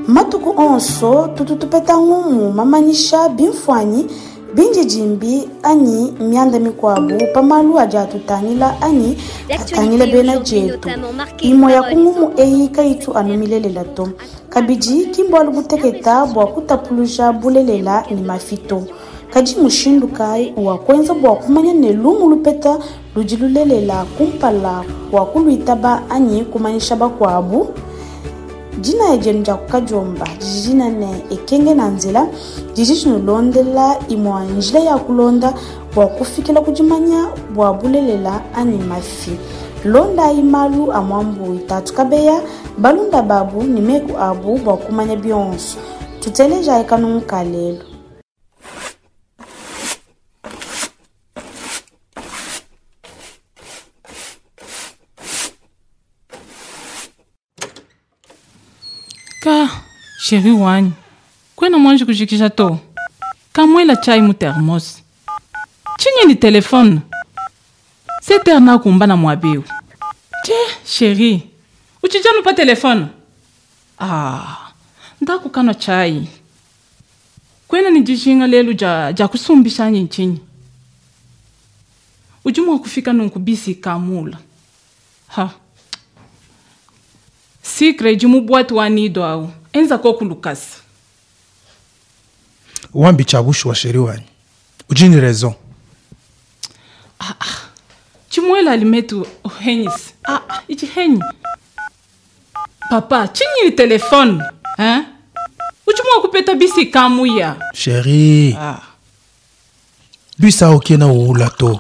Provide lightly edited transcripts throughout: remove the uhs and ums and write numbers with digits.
Matuku onso tututupeta ngumu mamanisha bimfwanyi binji jimbi ani mianda mikwabu pamalu aja tutangila ani atangila bena jetu imo ya kungumu eyi kaitu anumilelela to kabiji kimbo aluguteketa bwa kutapuluja bulelela ni mafito kaji mushindu kai wa kwenza bwa kumanya ne lumu lupeta lujilulelela kumpala wa kuluitaba ani kumanisha bakwabu jina ya jenja kukajomba jijina ne ekenge na nzela jijinu londela imo njila ya kulonda bwa kufikila kujimanya bwa bulelela ani mafi londa imalu amwambu itatu kabeya balunda babu ni meku abu bwa kumanya bionso tuteleja ekanu mkalelo Ka, chéri wani, kwena mwanji kujikisha to. Kamwela chai mu thermos. Chinye ni telefone. Se terna kumbana mwabiu. Chéri, uchijanu pa telefone. Ndaku kano chai. Kwena ni jishinga lelu ja kusumbisha nchini. Ujumu kufika nunkubisi kamula. Sikre jimu bwatu wanido au. Enza koku Lucas. Wambi chabushu wa sheri wani. Ujini raison. Chimwela alimetu henis. Ichi heni. Papa, chinyi ni telefone. Ujumu wakupeta bisi kamu ya. Sheri. Bisa okena uula to.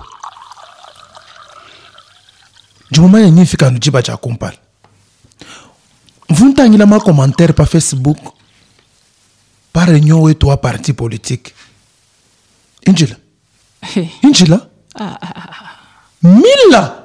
Jumumaya nifika nujiba cha kumpala. Vuntangila ma commentaire pa Facebook par réunion wetu wa parti politique. Injila. Injila. Mila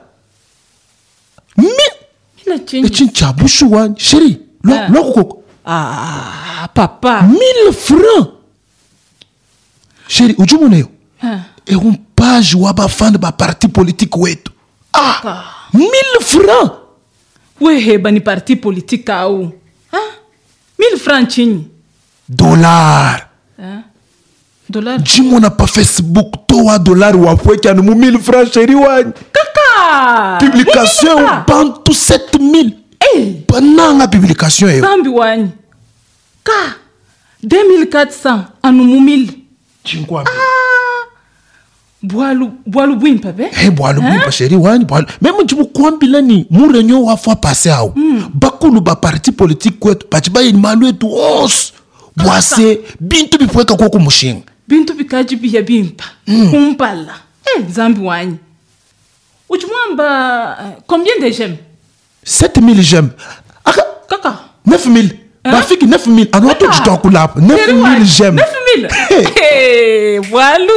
chinyi. Chinchabushu wani. Chéri, loko koko. Papa. 1000 francs. Chéri, ujumu neyo. E page waba fan ba parti politique wetu. 1000 francs. Weheba ni parti politique au. 1000 francs chini. Dollar. Dollar. Jimona pa Facebook toa dollar wafweke anu 1000 francs chéri wani. Kaka. Publication bantu 7000. Bananga publication yo. Zambi wani. Ka. 2400 anu 1000. Chinkwambi. Boalu bwimpa be? Boalu bwimpa chéri wani boalu. Même jibu kwambila ni mu réunion wa fois passé au. Bakulu ba parti politique kwetu bachiba ni malu etu os. Boase bintu bipweka koko mushinga. Bintu bikaji biya bimpa. Kumpala. Zambi wani. Uchumamba combien de j'aime? 7000 j'aime. Kaka. 9000. Bafiki 9000. Anoto jito kulapa. 9000 j'aime. 9000. Boalu.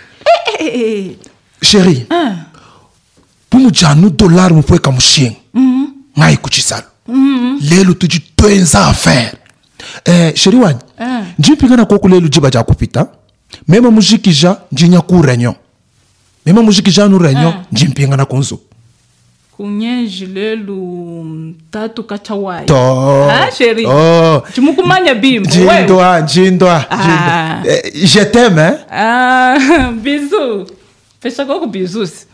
Chérie, pumu janu dollar mupweka mushinga. Ngai kuchisalu. Lelu tuji toenza affaire. Chérie wani, njipingana koko lelu jiba ja kupita. Mema mujikija njinya ku réunion. Mema mujikija nu réunion njimpingana kunzo. Kunyeji lelu tatu kachawai. Chérie. Chumukumanya bimbo. Njindwa. Je t'aime, Bisous. Fecha koko bisous.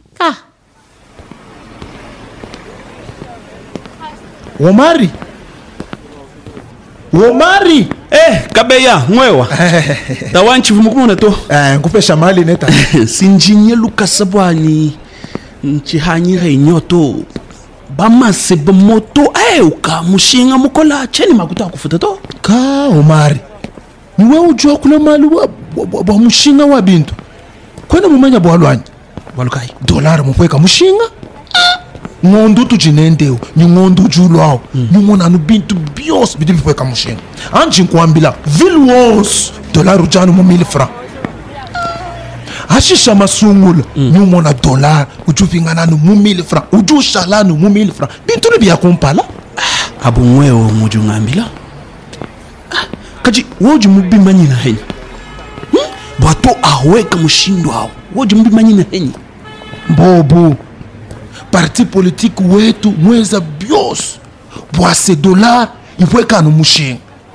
Omari. Kabeya, mwewa. Tawanchi vumukumuna to. Nkupesha mali neta. Sinjinye Lucas bwani. Nchihanyi renyo to. Bamase bamoto. Uka mushinga mukola cheni makuta kufuta to. Ka Omari. Niwe ujua kule mali wa mushinga wa bintu. Kwena mumanya bwalwanyi. Bwalukai. Dollar mupweka mushinga. Ngondu tujinendeo. Ni ngondu julwao. Ni mwana bintu bios bidi mupweka mushinga. Anji nkuambila. Vilwons. Dollar ujanu mu 1000 francs. Ashisha masungula. Ni mwana dollar. Ujupingana nu mu 1000 francs. Ujushala nu mu 1000 francs. Bintu nibiya kumpala. Abu mwewo mujungambila. Kaji woji mubimanyi na henyi. Bwato aweka mushindo hao. Woji mubimanyi na henyi. Bobo. Parti politique wetu mweza bios. Bwase dollar iweka no mushinga.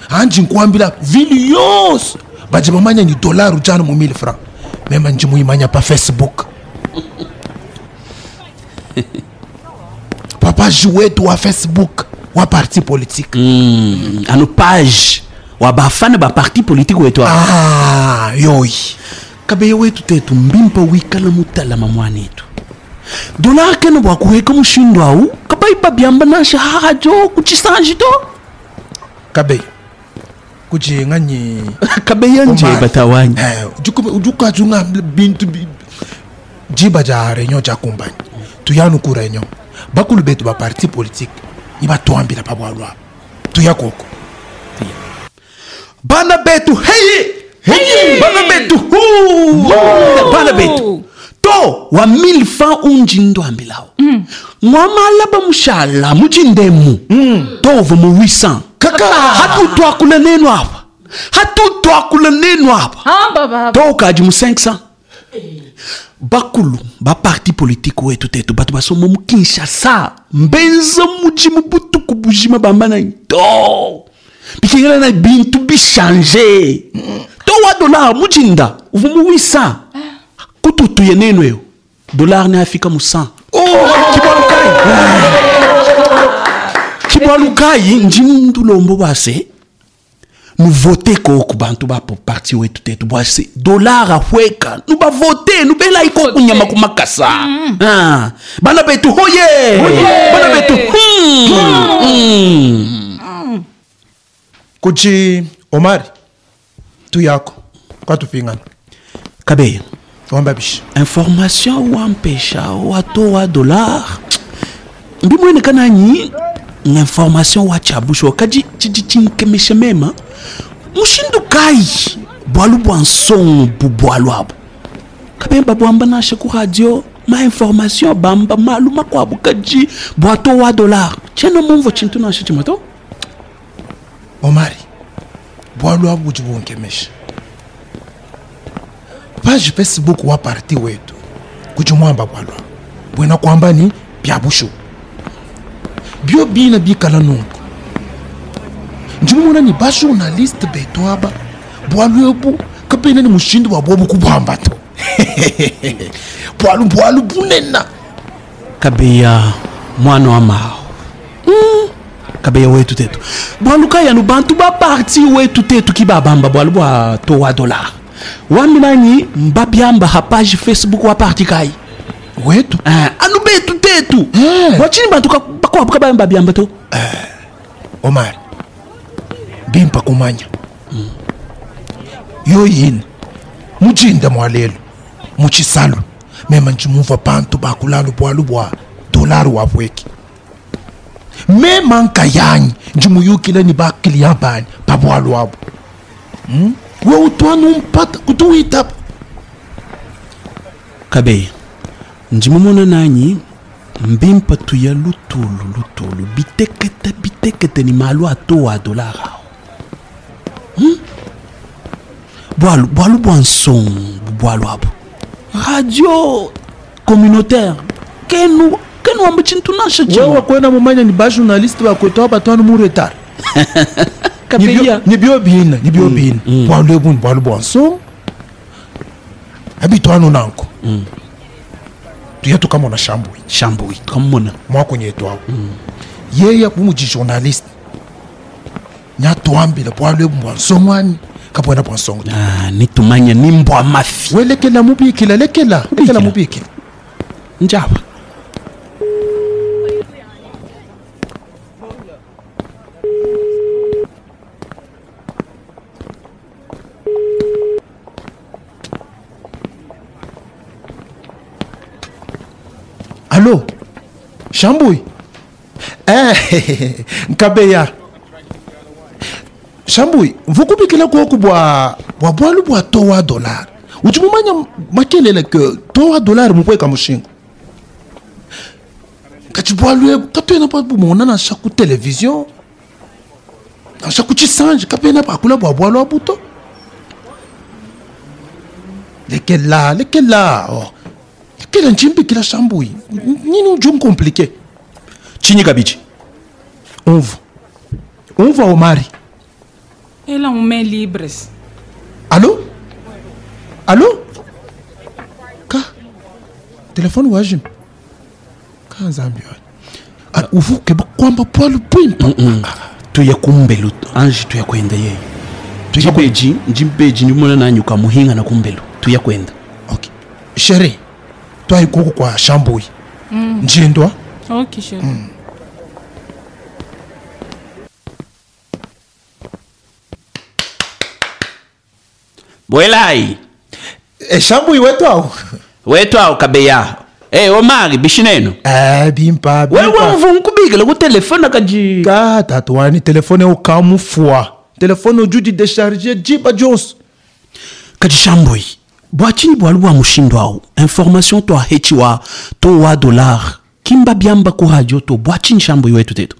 anji nkuambila vili yonse baje bamanya ni dollar ujana mu 1000 francs mema nji muimanya pa Facebook page wetu wa Facebook wa parti politique ano page wa bafana ba parti politique wetu yoyi kabe wetu tetu mbimpa wikala mutala mamwanetu dollar kena bwa kuweka mushindo au kabai babyamba na shahajo kuchisanji to kabe kujenga ni kabe yanje batawanya ujuka junga bintu jiba ja réunion ja compagnie tuyanu ku réunion bakulu betu ba parti politique iba toambila pabwalwa tuyakoko bana betu hey bana betu bana betu to wa 1000 francs unjindo ambilao mwamala ba mushala mujindemu to vomu 800 kaka hatu twakula neno hapa baba to kaji mu 500 bakulu ba parti politique wetu tetu batu basomo mu Kinshasa mbenza muji mubutu kubujima bambana to bikingela na bintu bi changer to wa dollar mujinda uvumu 800 kututu yeneno yo dollar ne afika mu 100 kibalukai njindu lombo base nous voter ko kubantu ba parti wetu tetu bwase dollar ahweka nous ba voter nous bela iko kunyama kumakasa bana betu hoye bana betu kuchi Omar tu yako kwa tupingana kabe wamba bishi information wa mpesha wato wa dollar mbimwene kana nyi information wa chabusho kaji chinkemeshe mema mushindu kai bwalu bwanson bubwalu abo kabemba bwamba na shaku radio ma information bamba maluma kwa bukaji bwato wa dollar cheno mumvo chintu na shichimato Omari bwalu abo jibunkemeshe page Facebook wa parti wetu kujumwamba bwalu bwena kwamba ni byabushu bio bina bikala nungu njimuna ni ba journaliste beto aba bwalu kapena ni mushindu wa bobu kubamba to bwalu bunena kabeya mwana wa mao kabeya wetu tetu bwalu kaya no bantu ba parti wetu tetu kibabamba bwalu bwa to wa dollar wamilani mbabyamba ha page Facebook wa parti kai wetu anu betu tetu wachini bantu bakwa bakabamba byamba to Omar bimpa kumanya yoyini mujinda mwalelo muchisalu mema nchimuva bantu bakulalo bwalu bwa dollar wabweki mema nkayanyi njimuyukile ni bakiliya bani babwalu wabo we utwanu mpata kutuwita kabe njimumona nanyi mbimpa tuya lutulu bitekete ni malu ato wa dollar bwalu bwanson bwalu abo radio communautaire kenu ambuchintu nasha wewe kwenda mumanya ni ba journaliste bakwetoa batwanu mu retard kabeya ni bio bina bwalu bwanson abitwanu nanko tuyetu kama na shambui kamona mwako nyetu wao yeye kumuji journaliste nyatwambile bwalu bwansomwani kapona bwansongo nitumanya nimbwa mafi welekela mubikila lekela mubikila njaba Allo Shambui nkabeya Shambui mvukubikila koku bwa bwalu bwa towa dollar uchumumanya makelele ke towa dollar mupweka mushingo kachibwalu kapena pa bumona na shaku television na shaku chisanje kapena pa kula bwalu abuto lekela kila nchimbi kila Shambui nini ujum compliqué chini kabichi umva Omari ela um mail libres. Allô? Allô? Ka? Telefone wajim. Ka zambi. Uvu keba kwamba pwalu pwimpa. Tuya kumbelu, anji tuya kwenda yeye. Tuya beji, njimbeji ndimona nanyuka muhinga na kumbelu. Tuya kwenda. Okay. Chérie, toi ikoko kwa shambui. Njindwa? Ok, chérie. Bwelai. Shambui wetu au? Wetu au kabeya. Omari bishineno. Bimpa. Wewe mvunkubiga ku telefone kaji. Ka tatuani telefone ukamufua. Telefone ujudi décharger jiba Jones. Kaji shambui. Bwachini bwaluwa mushindo au. Information to ahechiwa to wa dollar. Kimba biamba ku radio to bwachini shambui wetu tetu.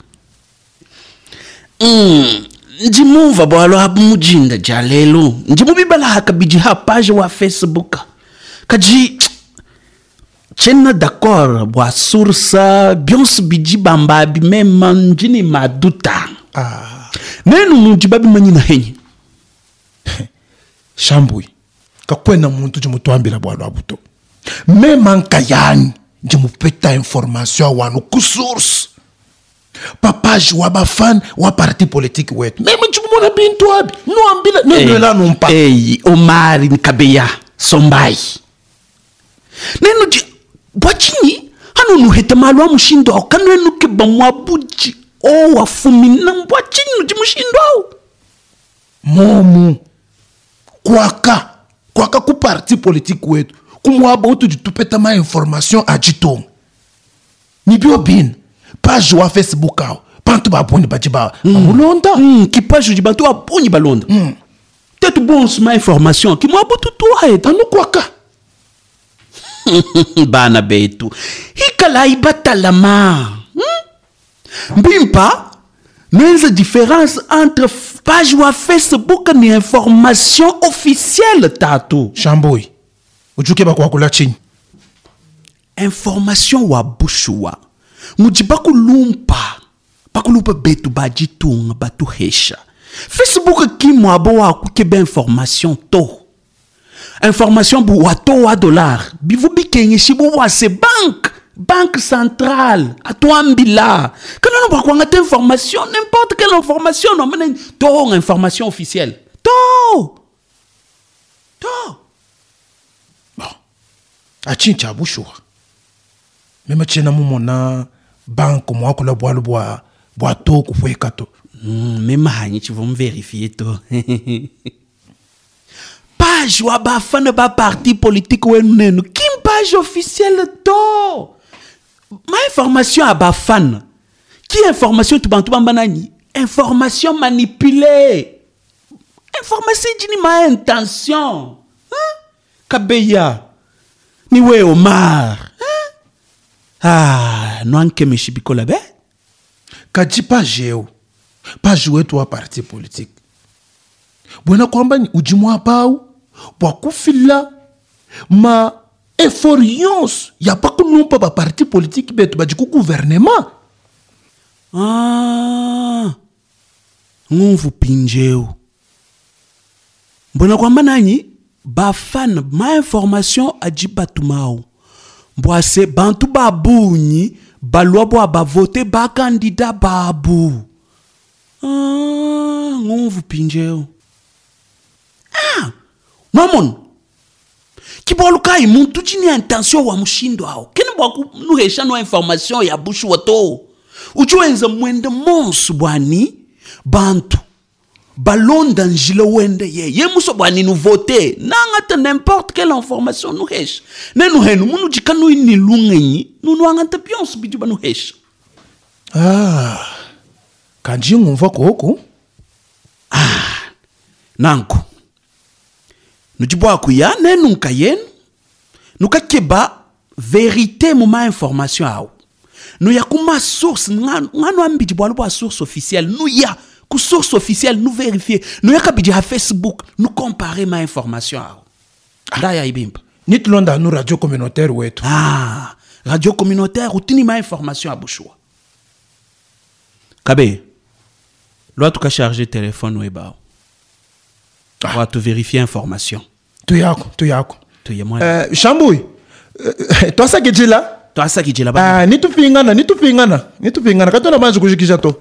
Njimuva bwalo habu mujinda jalelo. Njimubibala hakabiji ha page wa Facebook. Kaji chena d'accord bwa source bions biji bamba bi mema njini maduta. Nenu mujibabi manyina henyi. Shambui. Kakwena muntu jimutwambila bwalo abuto. Mema nkayani jimupeta information wanu ku source. Papage wa bafan wa parti politique wetu. Mema jimumona bintu abi. Nuambila nela numpa. Omari nkabeya sombai. Nenu bwachini hanu nuhete malu wa mushindo au kanu enu keba mwabuji o wafumi na bwachini nuji mushindo au momu kwaka ku parti politique wetu kumwaba utu jitupeta ma information ajitonga nibio bin page wa Facebook au bantu baboni bajiba ulonda ki page di bantu aboni balonda tetu bons ma information ki mwabu tutu haeta anu kwaka bana betu hikala ibatalama mbimpa nenza différence entre page wa Facebook ni information officielle tatu shamboi ujuke bakwa kula chini information wa bushua mujiba kulumpa betu bajitunga batu hesha Facebook ki mwabo wa kukebe information to information bu wato wa dollar bivu bikenye shibu wa se banque centrale atoambila kana no bakwanga te information n'importe quelle information no mena to information officielle to bon achincha bushwa mema chena mumona banque mwako la bwalo bwa to kufweka to mema hanyi chivom vérifier to page wa bafana ba parti politique wenenu kim page officielle to ma information à bafana qui information tu bantu bamba nani information manipulée information jini ma intention kabeya ni we Omar no anke meshibikola be kaji page wetu wa parti politique bwana kwamba ni ujimwa pau bwa kufila ma effort ya pa kunumpa ba parti politique betu bajiku gouvernement nguvu pinjeu mbona kwamba nani bafana ma information ajibatumao mbwase bantu babunyi balwa bwa bavote ba candidat babu nguvu pinjeu mamon kiboluka imuntu chini intention wa mushindo ao kene bwa nuhesha no information ya bushu wato ujuenza mwende monsu bwani bantu balonda njile wende ye muso bwani nu voter nangata n'importe quelle information nu hesha nenu henu munu jikanu ini lungenyi nunu angata pions biju banu hesha kanji ngumva koko nanku nujibwa kuya nenu nkayenu nukakeba vérité moma information ao nu ya kuma source ngano ambiji bwa source officielle nu ya ku source officielle nu vérifier nu ya kabiji ha Facebook nu comparer ma information ao ndaya ibimba nitulonda nu radio communautaire wetu radio communautaire utini ma information abushwa kabe lo tukacharger téléphone webao watu verifie information tu yako tuye mwana Shambui twasa kijila twasa kijila ba nitupingana katona manje kushikisha to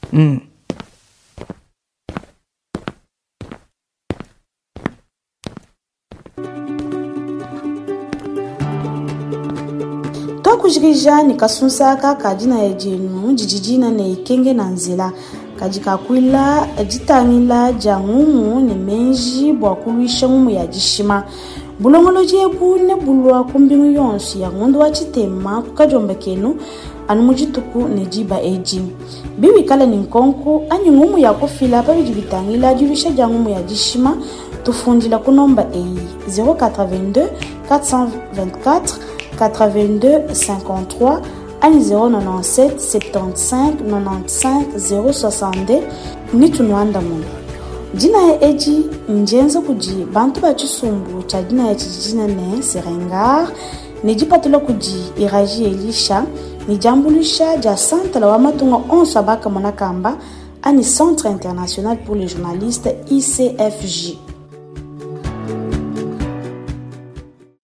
Twakujirija nikasunsa kadina ya jenu jijijina na ikenge na nzela kajikakwila jitangila jangumu ne menji bwakuluisha ngumu ya jishima bulongolo jebu ne bulwa kumbingu yonsu ya ngundu wa chitema kukajomba kenu anu mujituku ne jiba eji biwi kala ni nkonku anyi ngumu ya kufila pa bijibitangila julisha jangumu ya jishima tufundila kunomba eyi 082 424 82 53 ani 097 75 95 062 ni tunuanda mungu. Jina ya eji njenza kuji bantu ba chisumbu cha jina ya chijina ne Serengar ni jipatula kuji Iraji Elisha ni jambulisha ja santa la wamatunga onso abaka monakamba ani Centre International pour les Journalistes ICFJ.